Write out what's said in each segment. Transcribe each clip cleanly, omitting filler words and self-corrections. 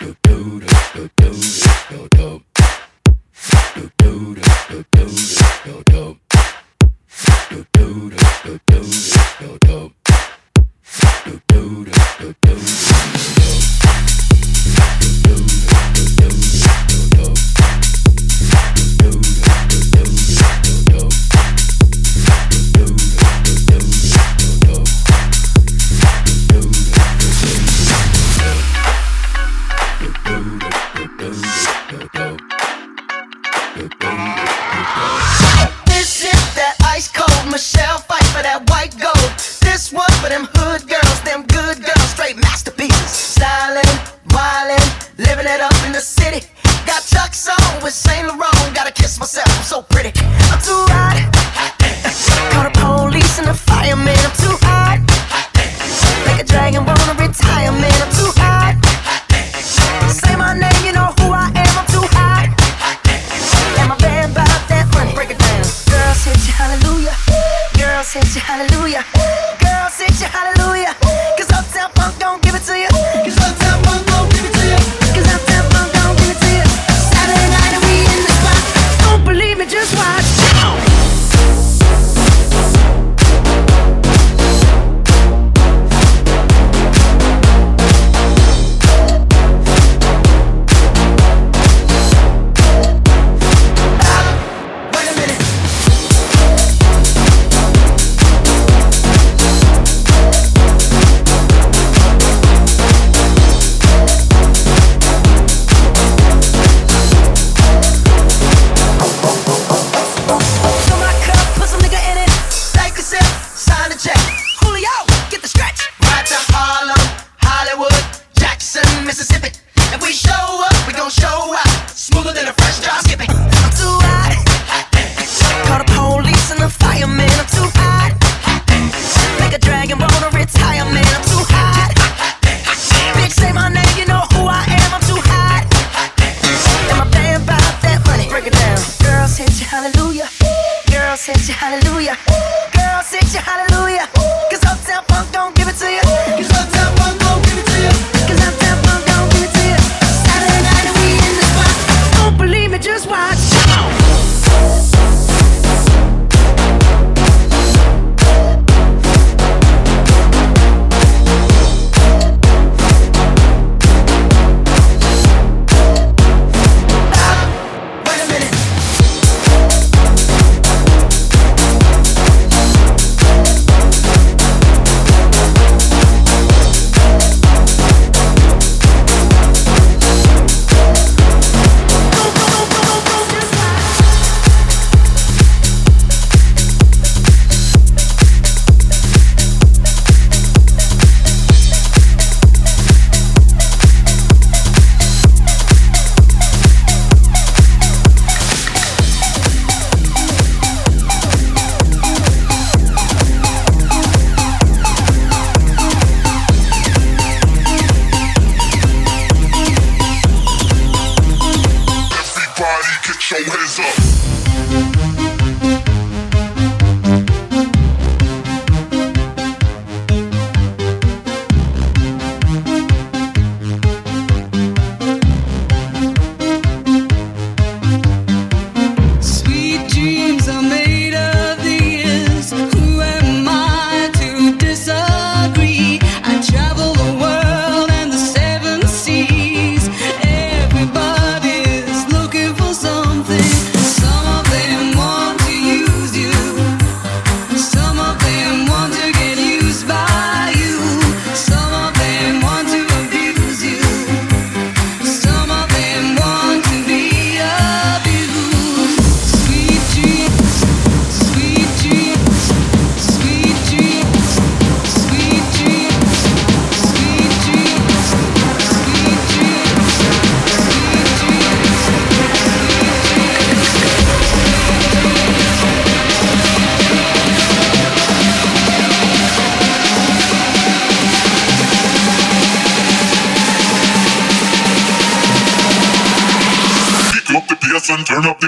and turn up the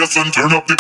bass and turn up the.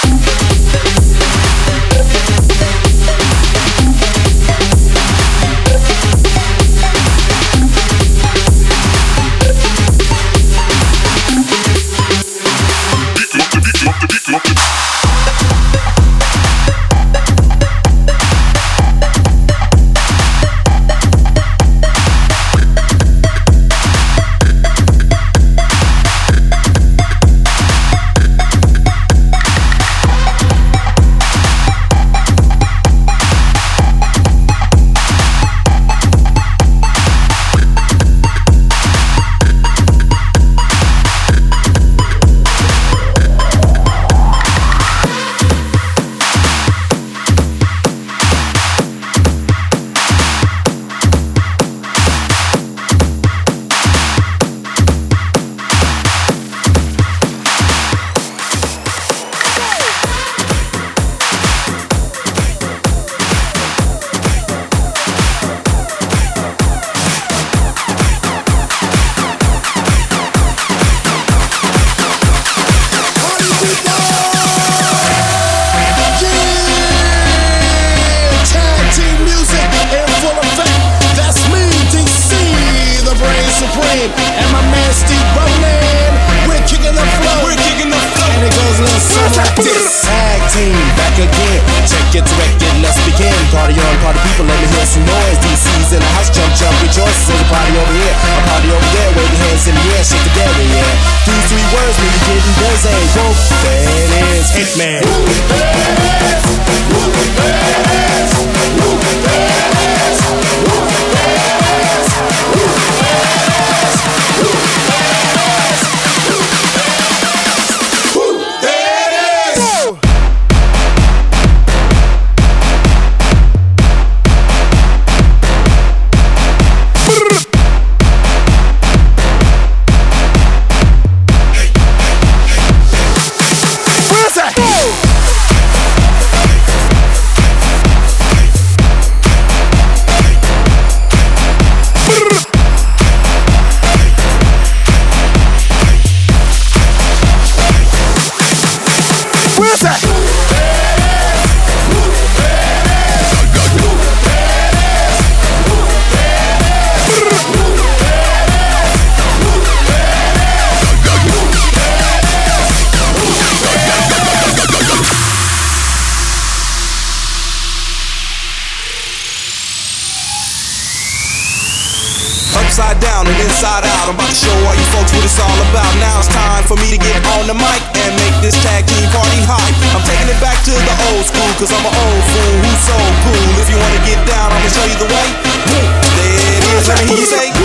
Upside down and inside out, I'm about to show all you folks what it's all about. Now it's time for me to get on the mic and make this tag team party hype. I'm taking it back to the old school, cause I'm an old fool who's so cool. If you wanna get down, I'ma show you the way. There it is, let me hear you say, come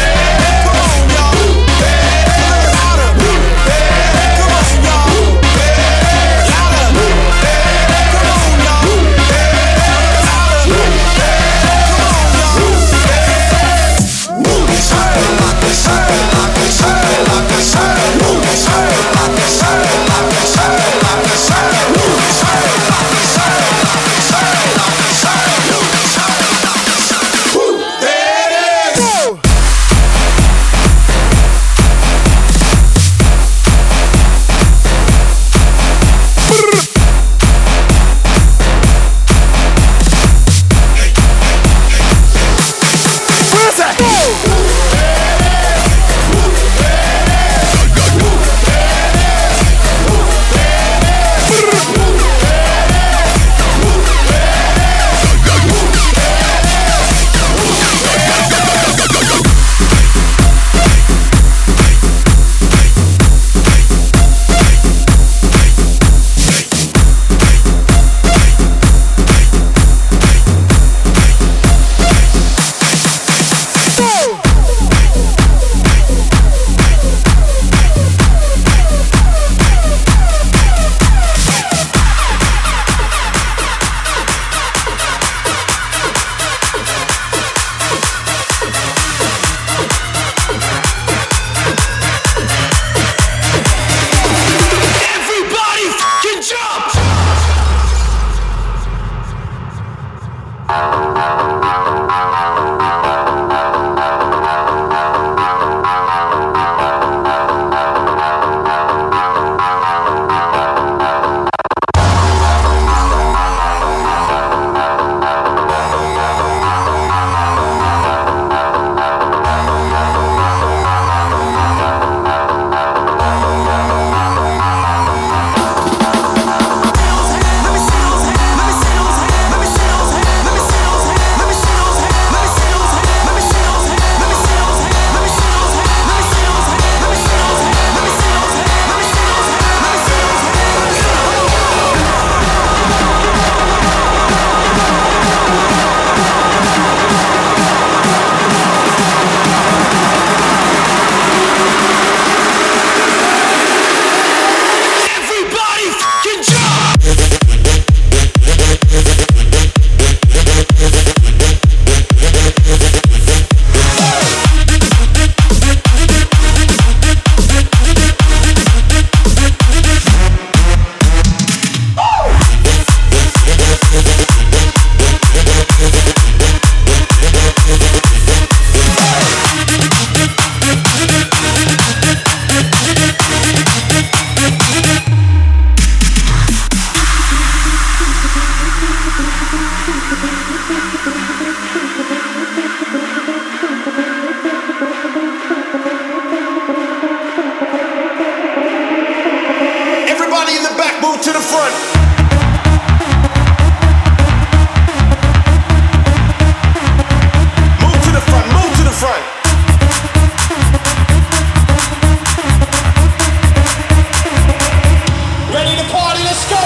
on y'all, louder, come on y'all, louder, come on y'all, move to the front. Move to the front, move to the front. Ready to party, let's go.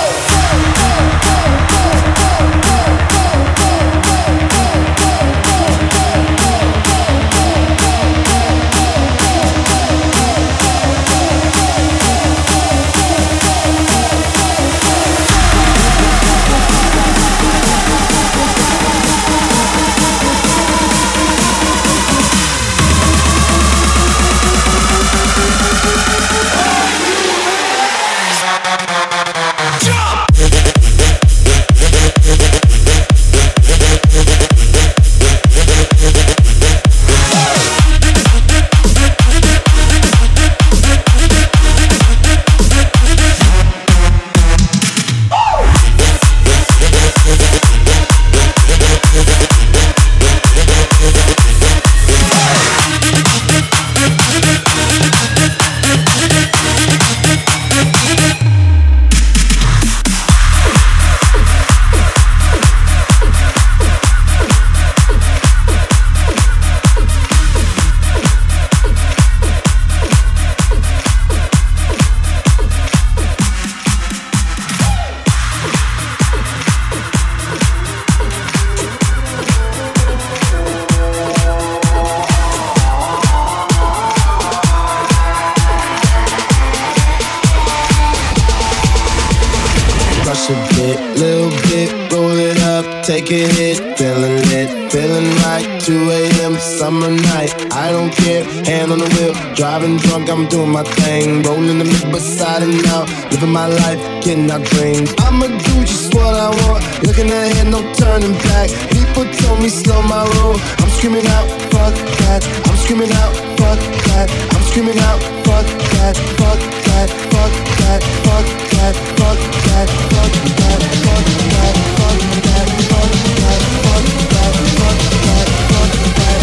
Take a hit, feeling lit, feeling right. 2 a.m. summer night, I don't care. Hand on the wheel, driving drunk, I'm doing my thing. Rolling the mid beside and out, living my life, getting our dreams. I'ma do just what I want, looking ahead, no turning back. People told me slow my roll, I'm screaming out, fuck that. I'm screaming out, fuck that. I'm screaming out, fuck that, fuck that, fuck that, fuck that, fuck that, fuck that, fuck that, fuck that, fuck that, fuck that, fuck that, fuck that, fuck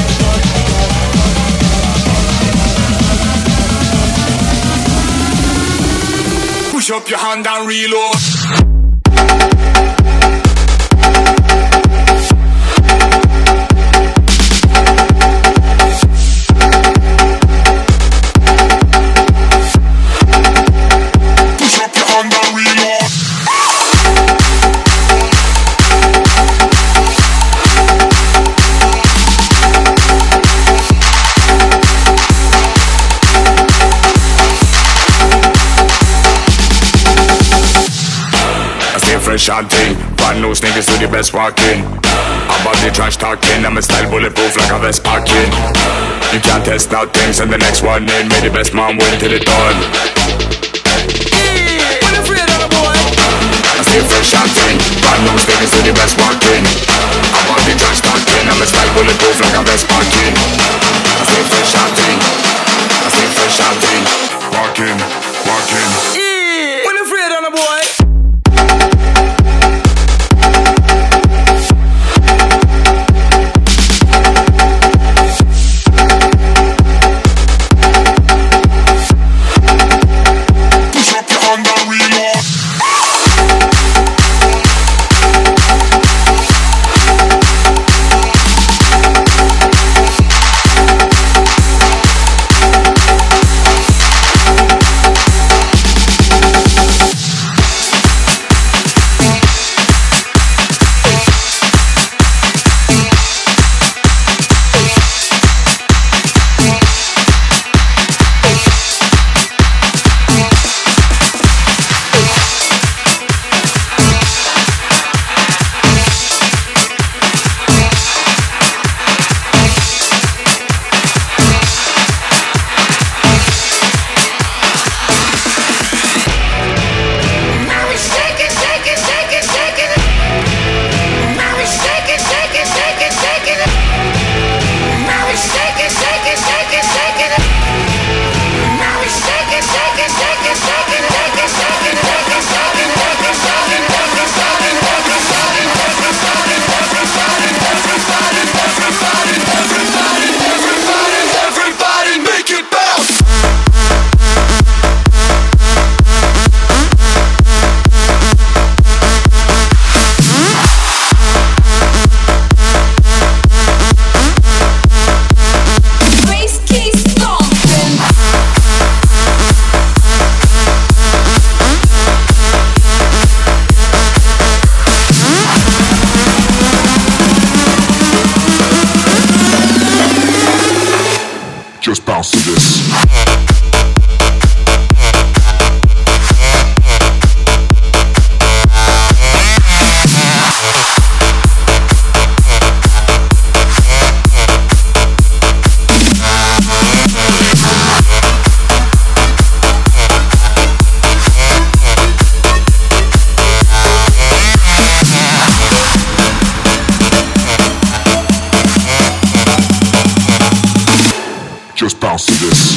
that. Push up your hand and reload. Fresh and thing, brand new sneakers to the best walking. About the trash talking, I'm a style bulletproof like a vest packing. You can't test out things and the next one in. May the best man win till it done. When I'm afraid of the boy. I stay fresh and thing, brand new sneakers to the best walking. About the trash talking, I'm a style bulletproof like a vest packing. I stay fresh and thing, I stay fresh and thing. Walking, walking. When I'm afraid of the boy. to this. Just bounce to this.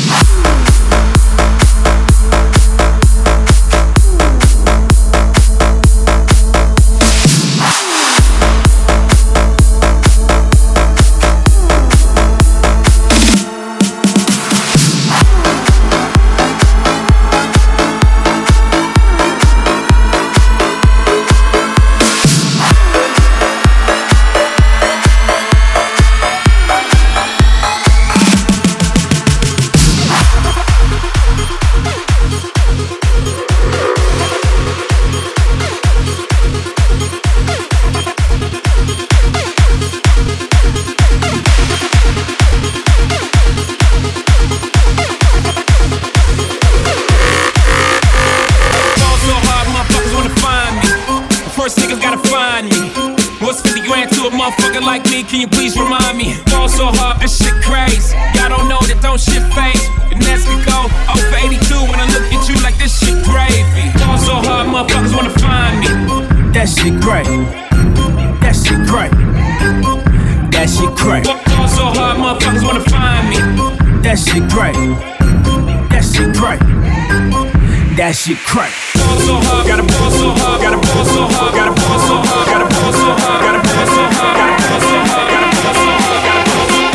Like me, can you please remind me? Fall so hard, this shit crazy. Y'all don't know that don't shit phase. The Nets could go 0 for 82 when I look at you like this shit gravy. Fall so hard, motherfuckers wanna find me. That shit great. That shit great. That shit great. Fall so hard, motherfuckers wanna find me. That shit great. That shit great. That shit great. Fall so hard, gotta ball so hard, gotta ball so hard, gotta ball so hard, gotta ball so hard, gotta ball so hard, gotta ball so hard, gotta ball so hard, gotta ball so hard.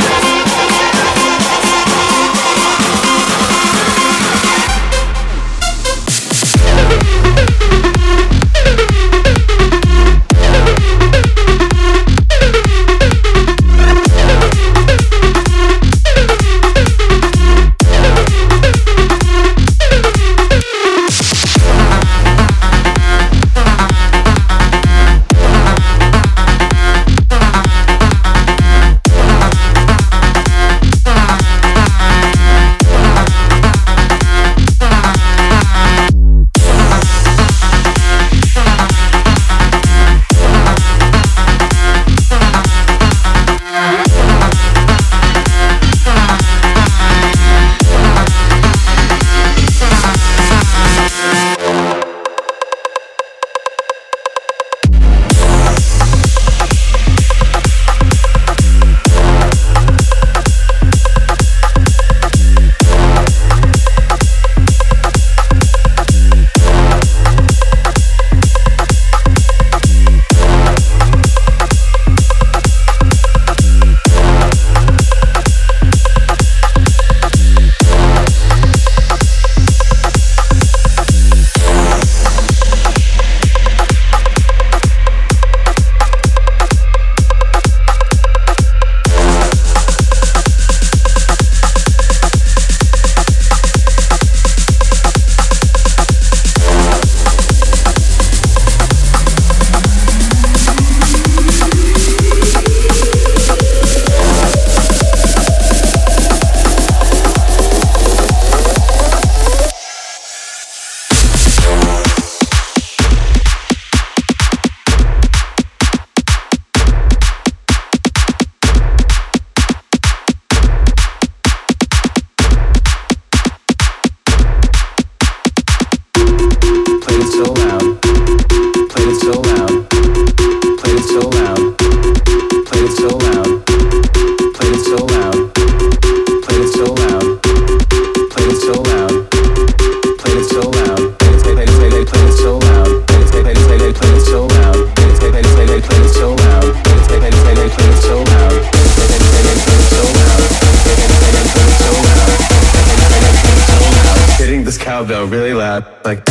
cowbell really loud, like.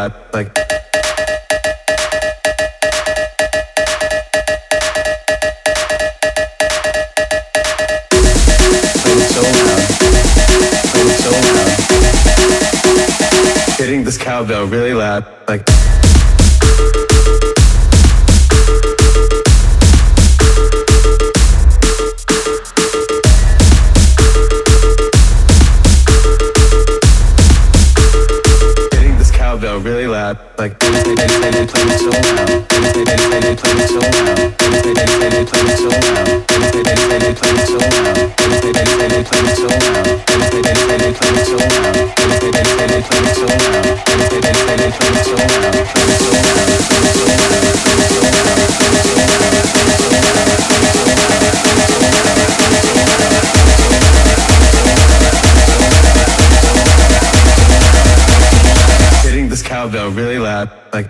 loud, like. Hitting this cowbell really loud, like. Hitting this cowbell really loud, like. Play it so loud. Play it so loud. Play it so loud. Play it so loud. Play it so loud. Hitting this cowbell really loud, like.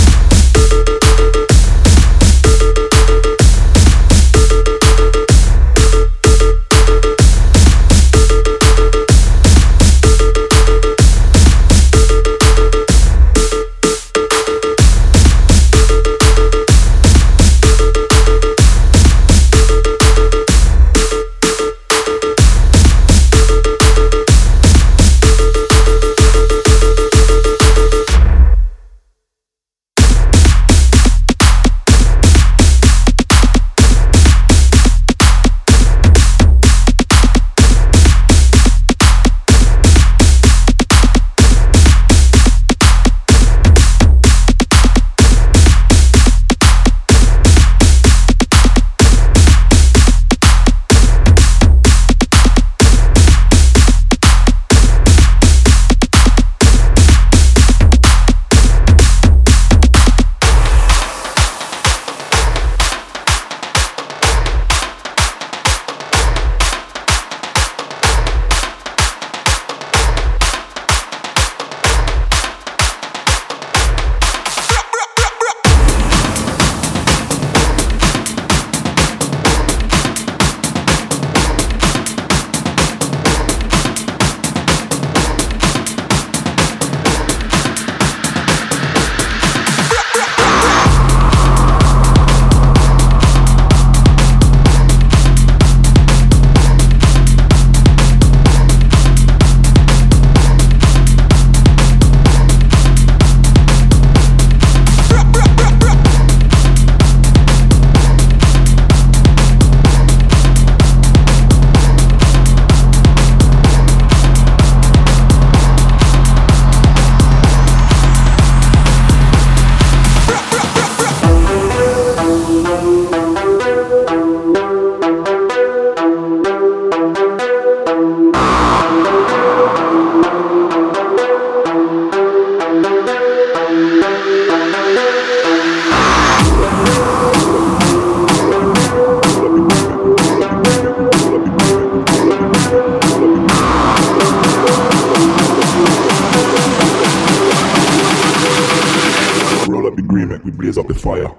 blaze up the fire.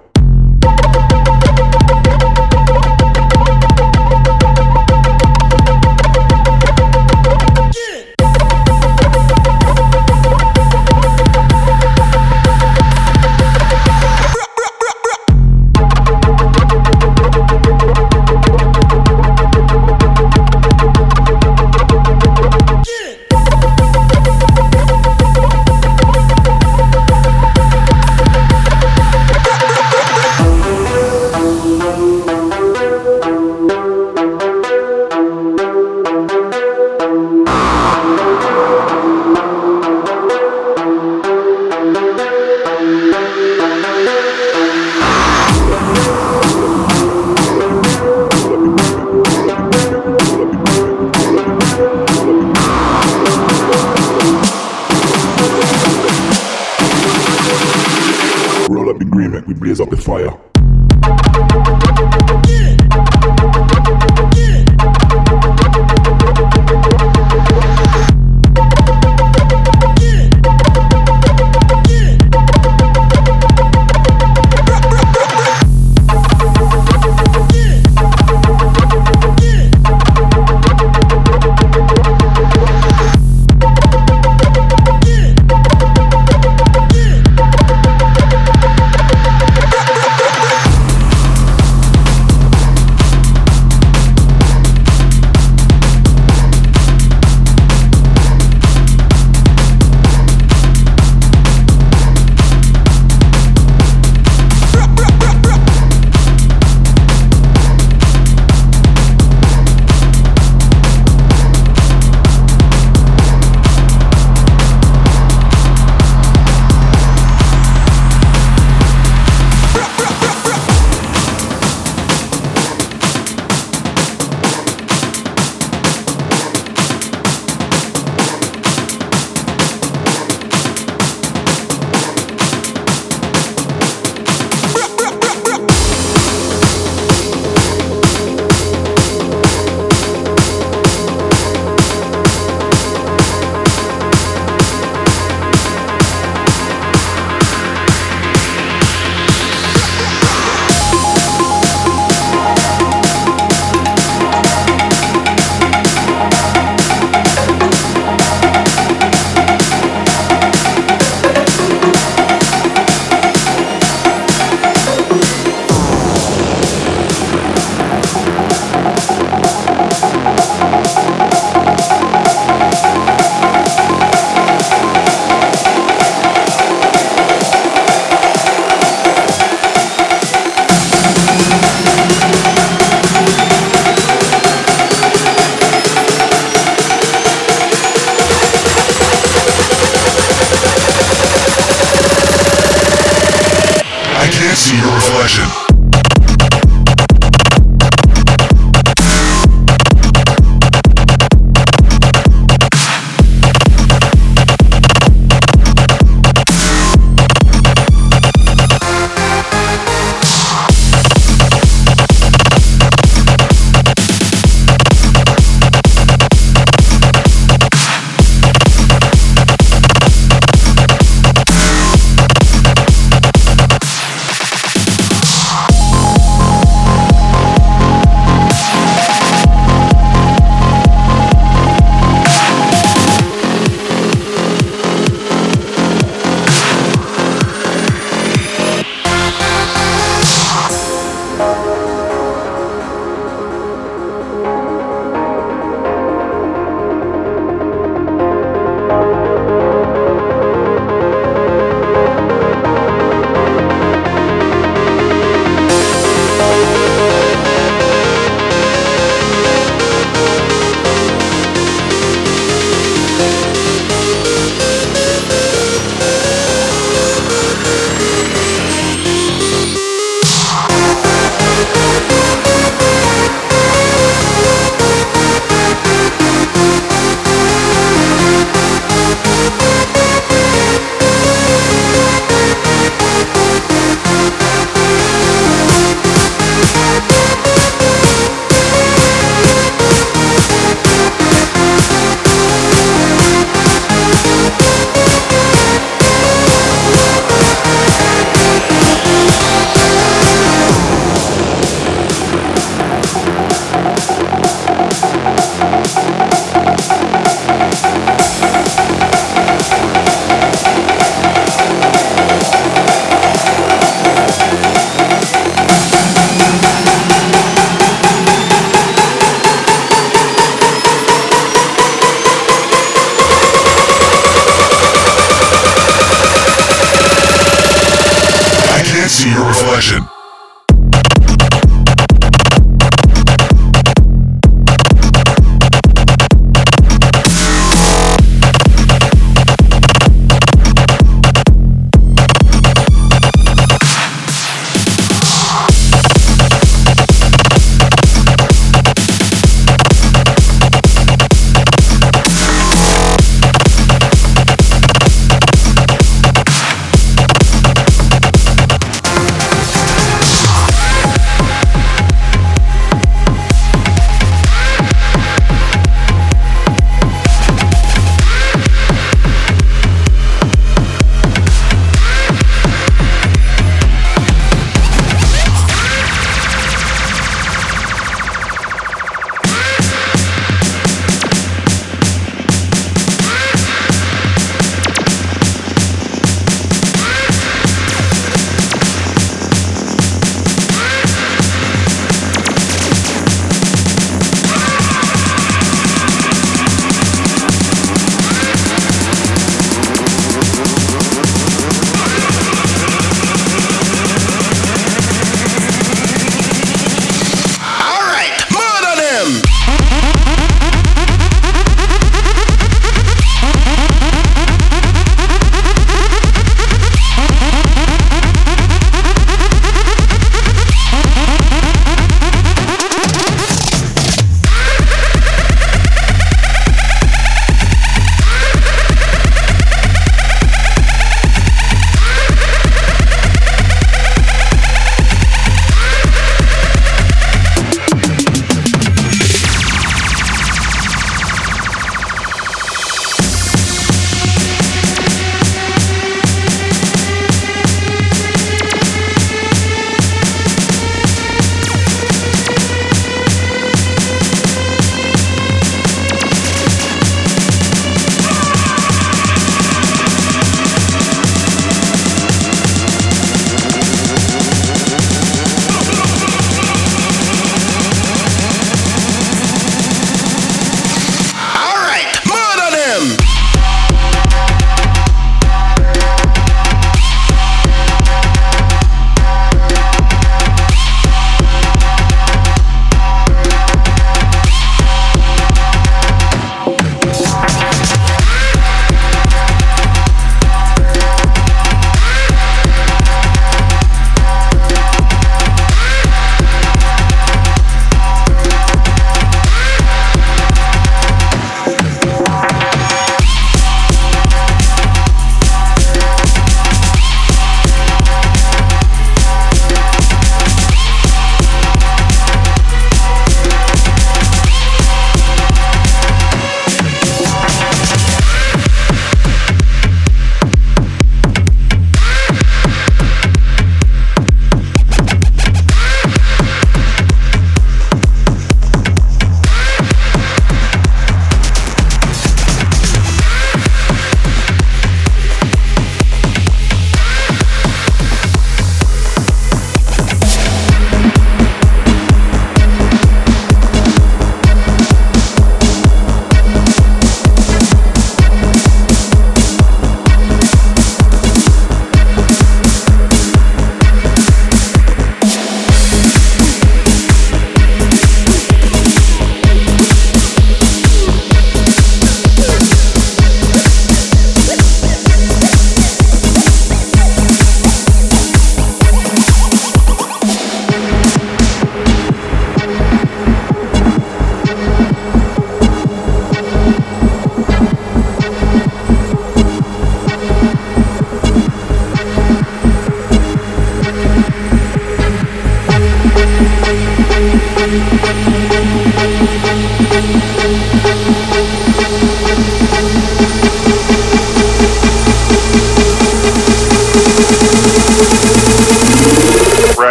Roll up the green, make we blaze up the fire. can't see your reflection. See your reflection.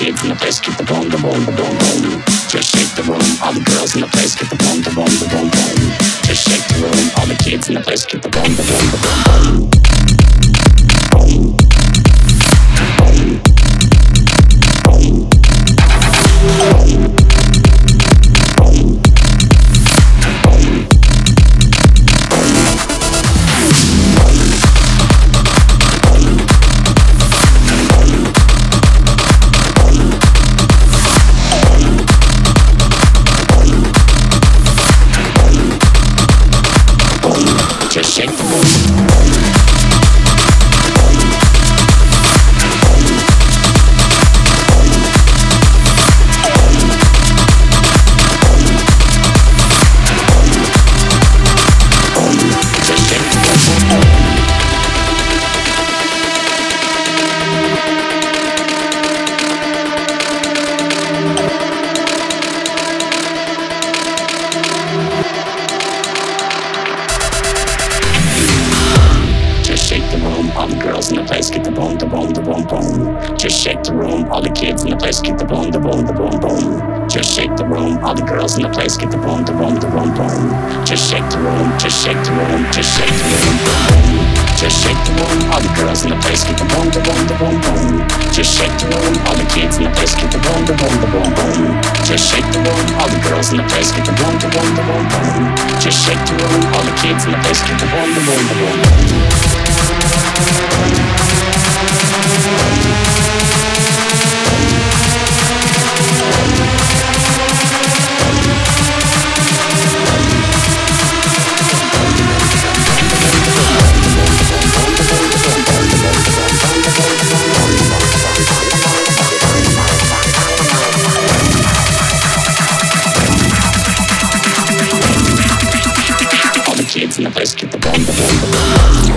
kids in the place get the boom, the boom, the boom, boom. Just shake the room, all the girls in the place get the boom, the boom, the boom, boom. Just shake the room, all the kids in the place get the boom, the boom, the boom, boom. Just shake the room. Just shake the room, all the kids in the place get the boom, the boom, the boom, boom. Just shake the room, all the girls in the place get the boom, the boom, the boom, boom. Just shake the room, just shake the room, just shake the room, boom. Just shake the room, all the girls in the place get the boom, the boom, the boom, boom. Just shake the room, all the kids in the place get the boom, the boom, the boom, boom. Just shake the room, all the girls in the place get the boom, the boom, the boom, boom. Just shake the room, all the kids in the place get the boom, the boom, the boom, boom. All the kids in the place get the boom, the boom, the boom.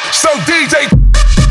So DJ